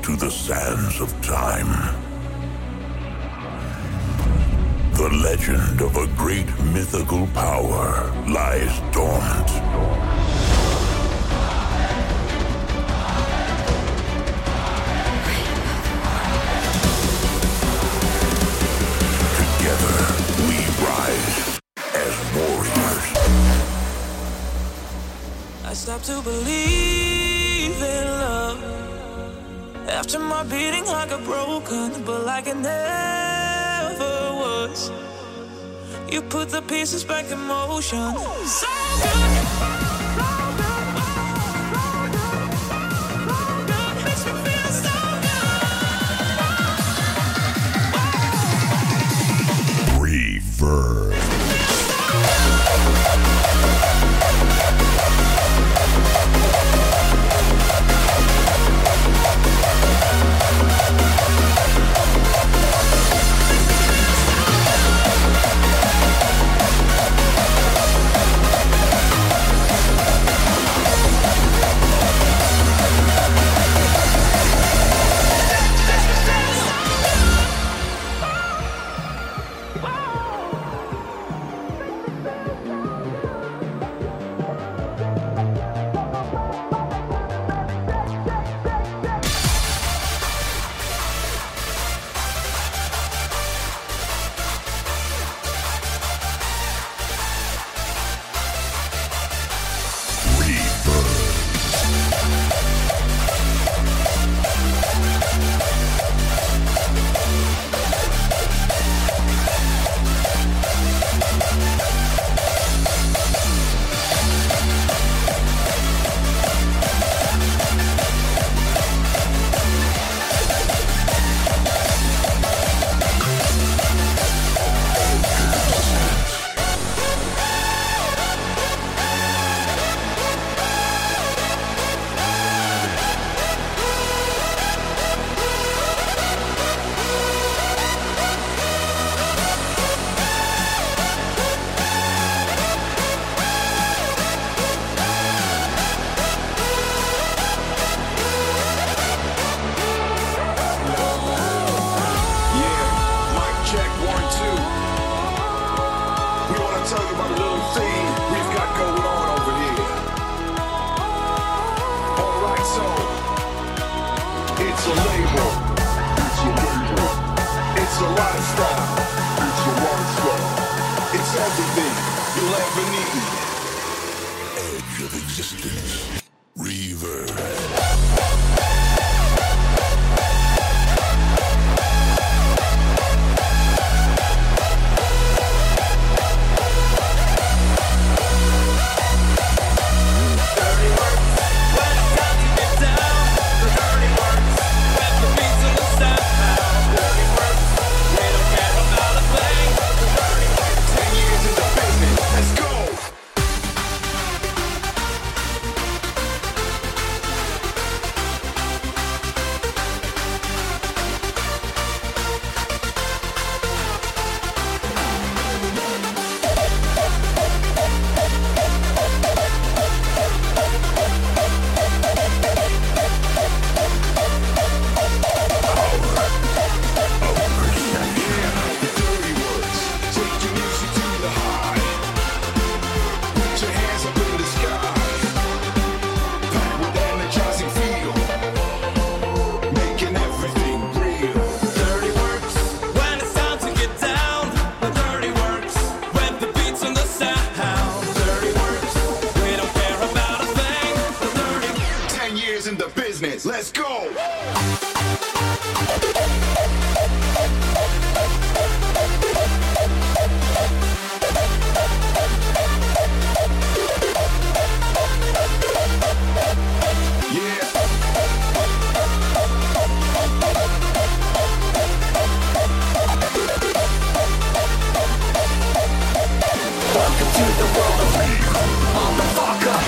to the sands of time. The legend of a great mythical power lies dormant. Together, we rise as warriors. I stopped to believe in love after my beating heart got broken, but like it never was. You put the pieces back in motion. So good. Makes me feel so good. Reverb. Let's go! Welcome to the world of motherfucker.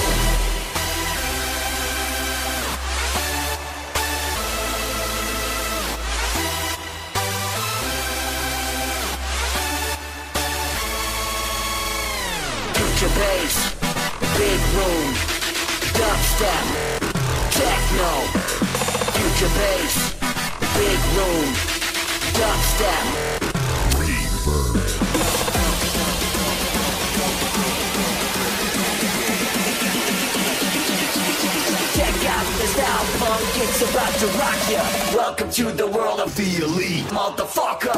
Future bass, big room, dubstep, techno. Future space, big room, dubstep. Check out the style punk, it's about to rock ya. Welcome to the world of the elite, motherfucker.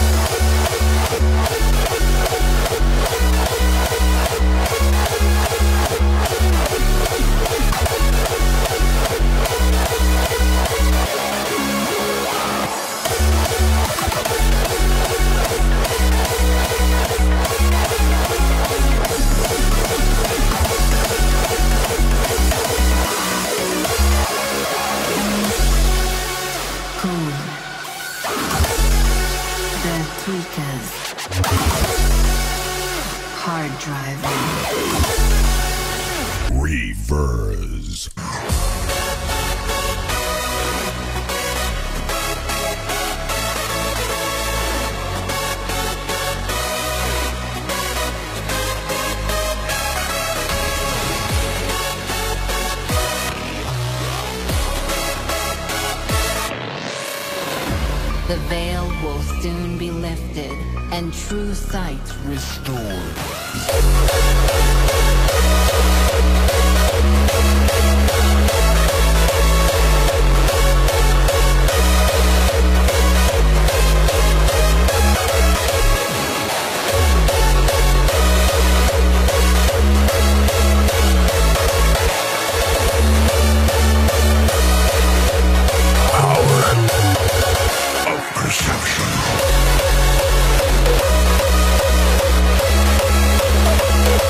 Hard driving. Reverse. The veil will soon be lifted and true sight restored. Perception.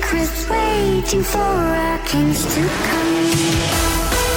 secrets waiting for our kings to come.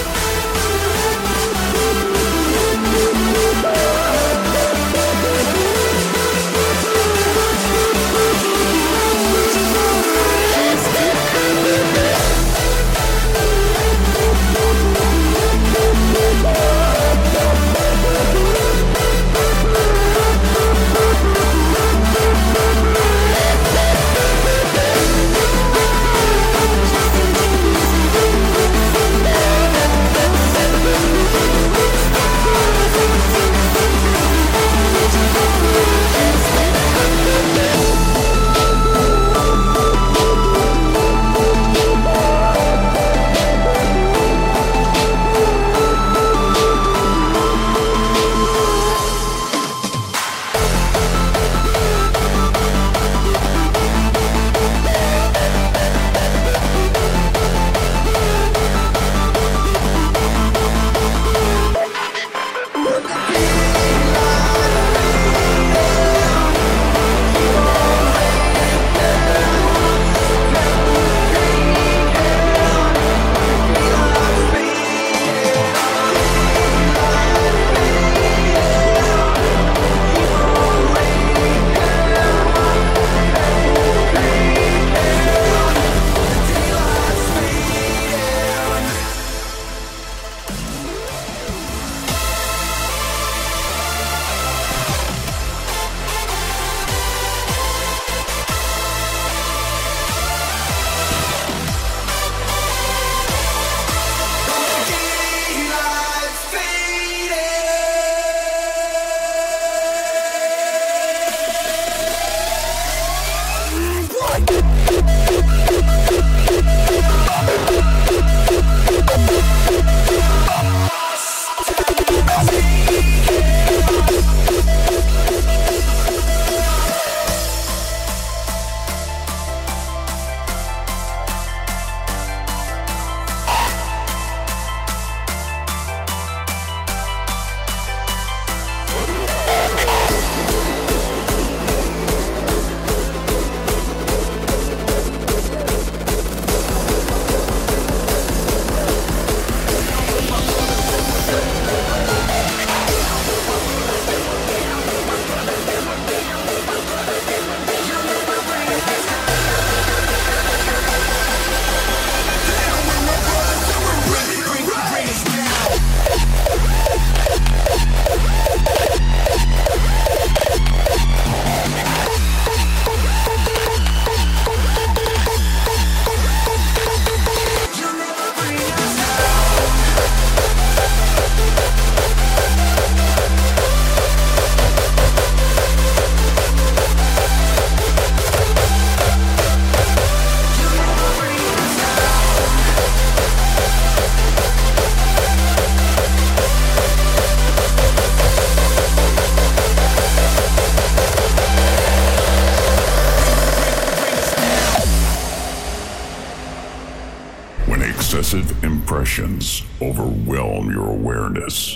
Excessive impressions overwhelm your awareness.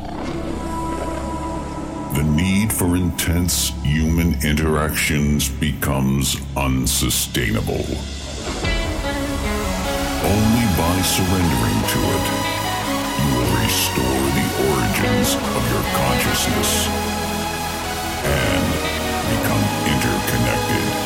The need for intense human interactions becomes unsustainable. Only by surrendering to it, you will restore the origins of your consciousness and become interconnected.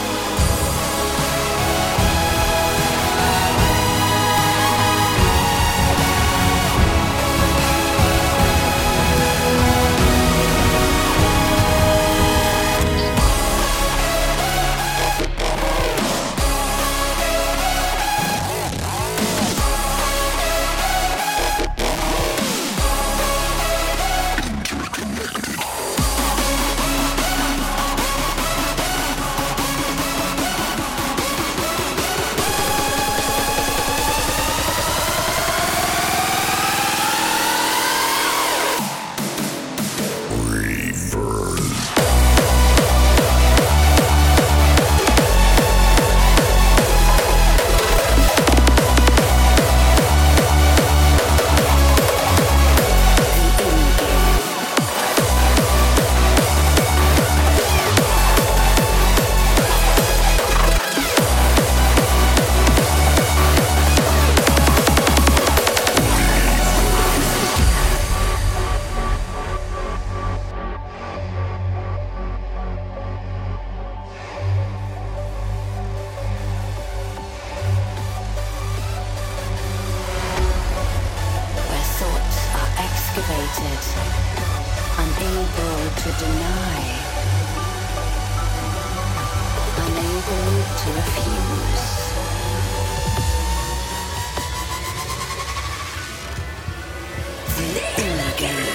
elevated, unable to deny, unable to refuse. The inner game.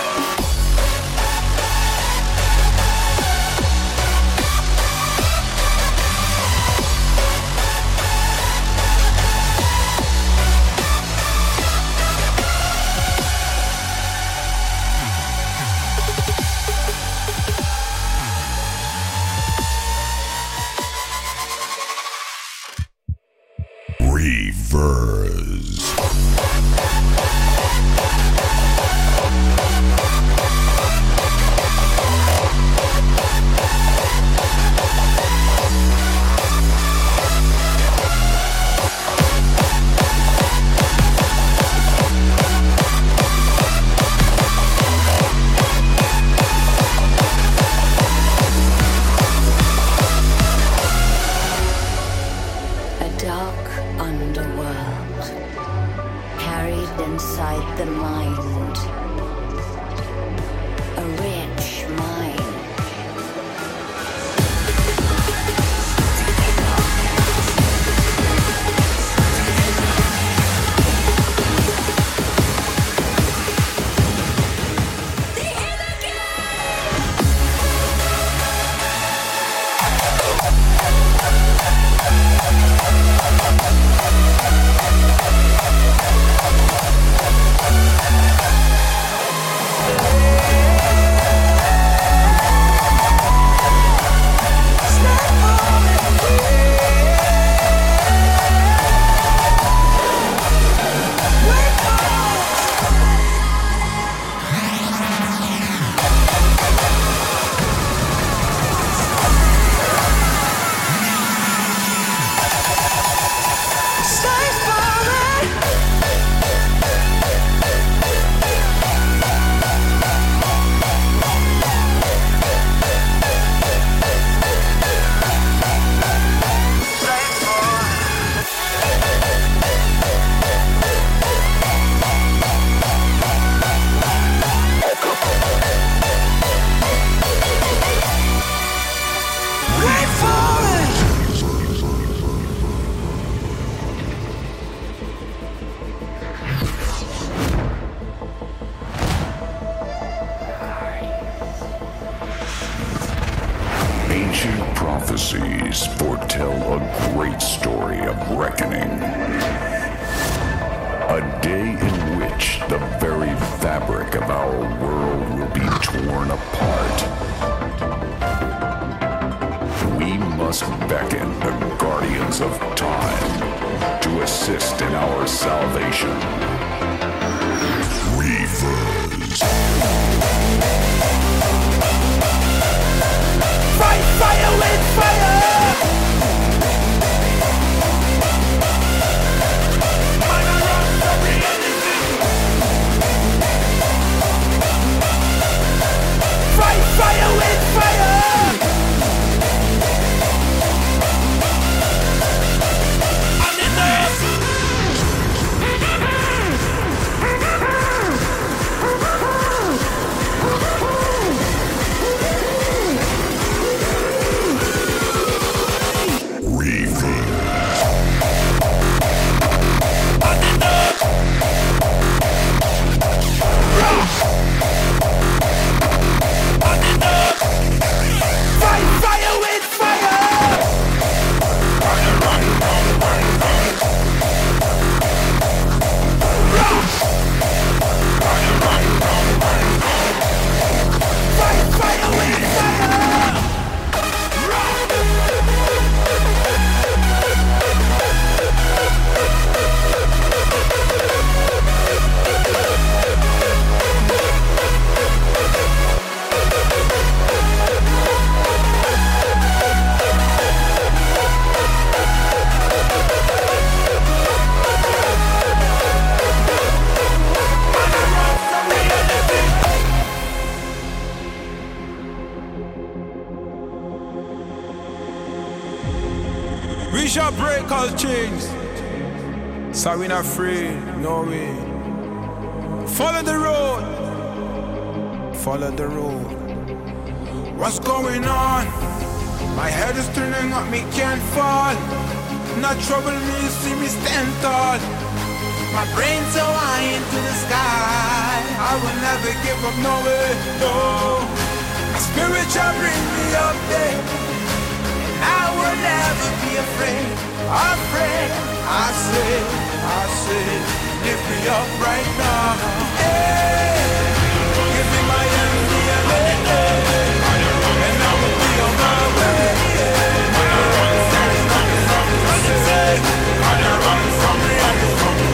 prophecies foretell a great story of reckoning. A day in which the very fabric of our world will be torn apart. We must beckon the guardians of time to assist in our salvation. Reavers. Fight fire with fire! Fight fire with fire! I'm in We shall break all chains. So we not afraid, no way. Follow the road. Follow the road. What's going on? My head is turning up, me can't fall. Not trouble me, you see me stand tall. My brain's so high into the sky. I will never give up, no way, no. My spirit shall bring me up there. And I will never be afraid. Afraid, I say, lift me up right now. Hey, give me my enemy and I will be on my way. There's nothing left to say. I run from reality.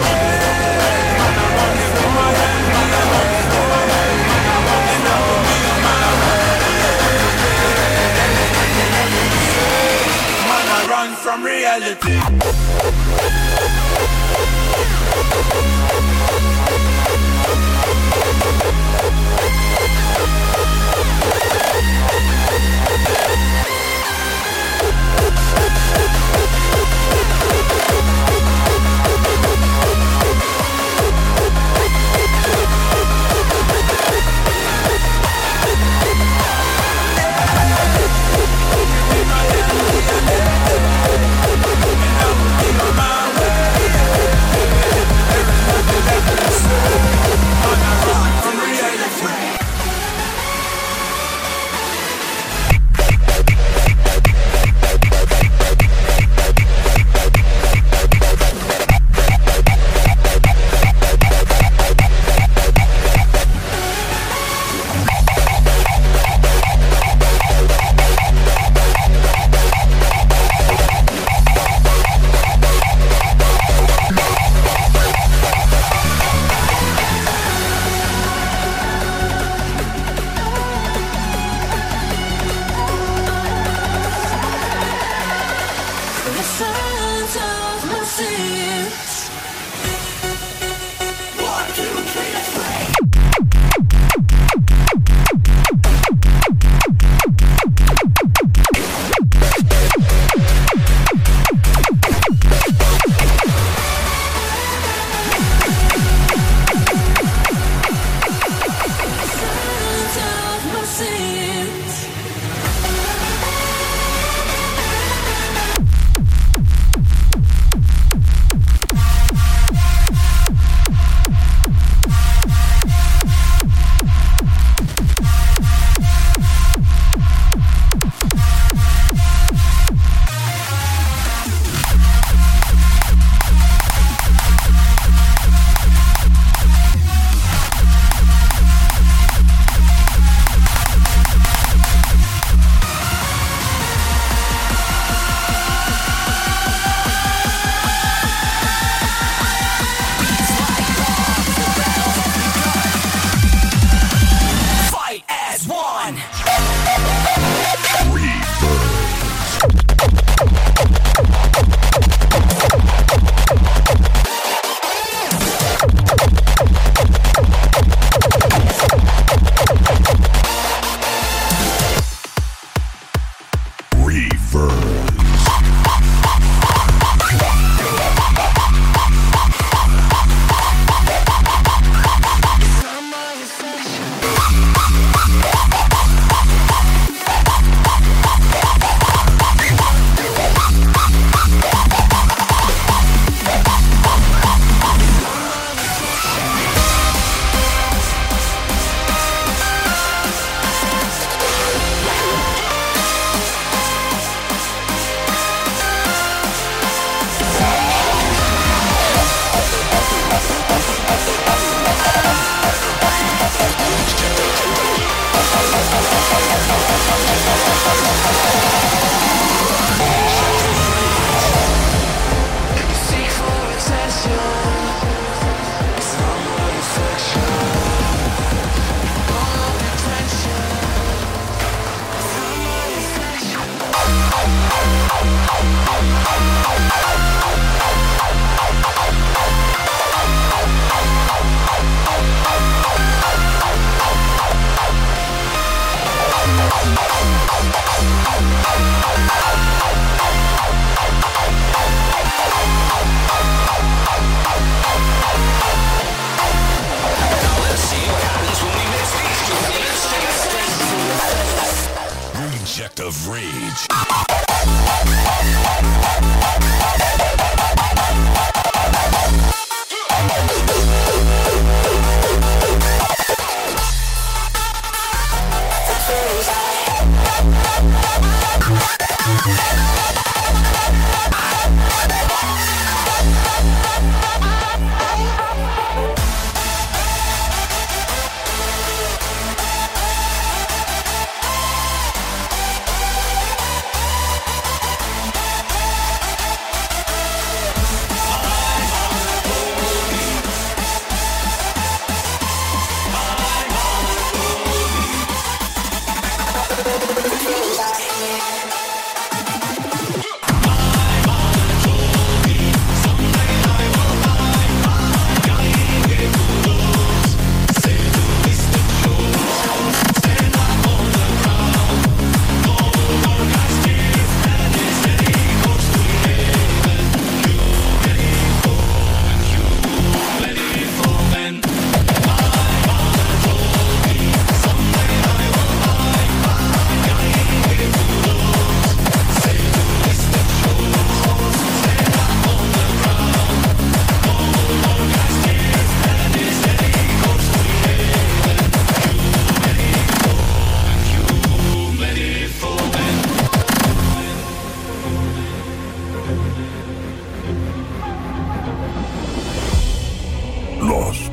From reality.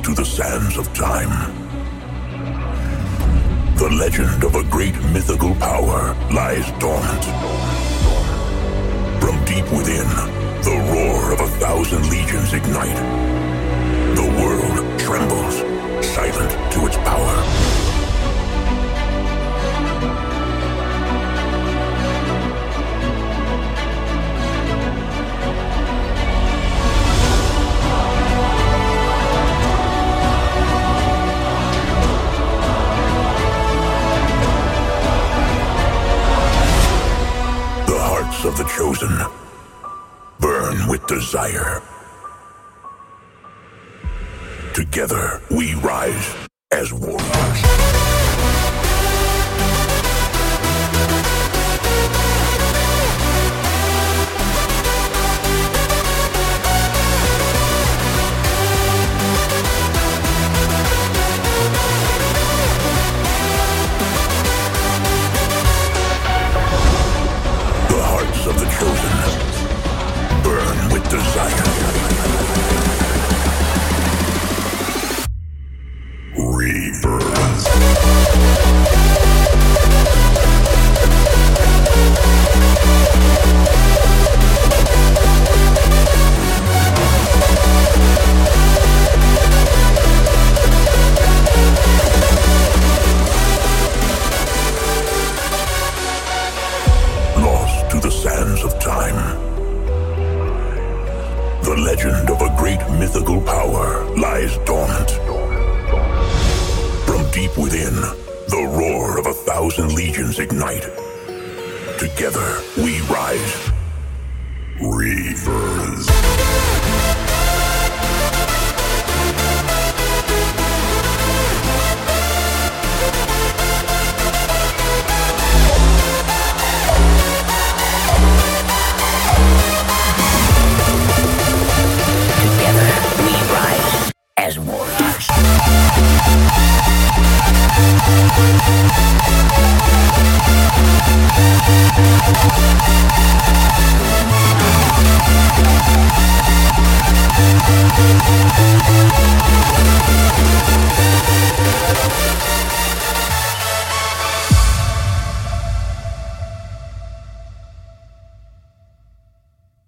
to the sands of time. The legend of a great mythical power lies dormant. From deep within, the roar of 1,000 legions ignite. The world trembles, silent to its power. Of the chosen burn with desire. Together we rise as warriors. Of the chosen burn with desire. Rebirth. Lost to the sands of time. The legend of a great mythical power lies dormant. From deep within, the roar of 1,000 legions ignite. Together we rise. Rebirth. As warriors.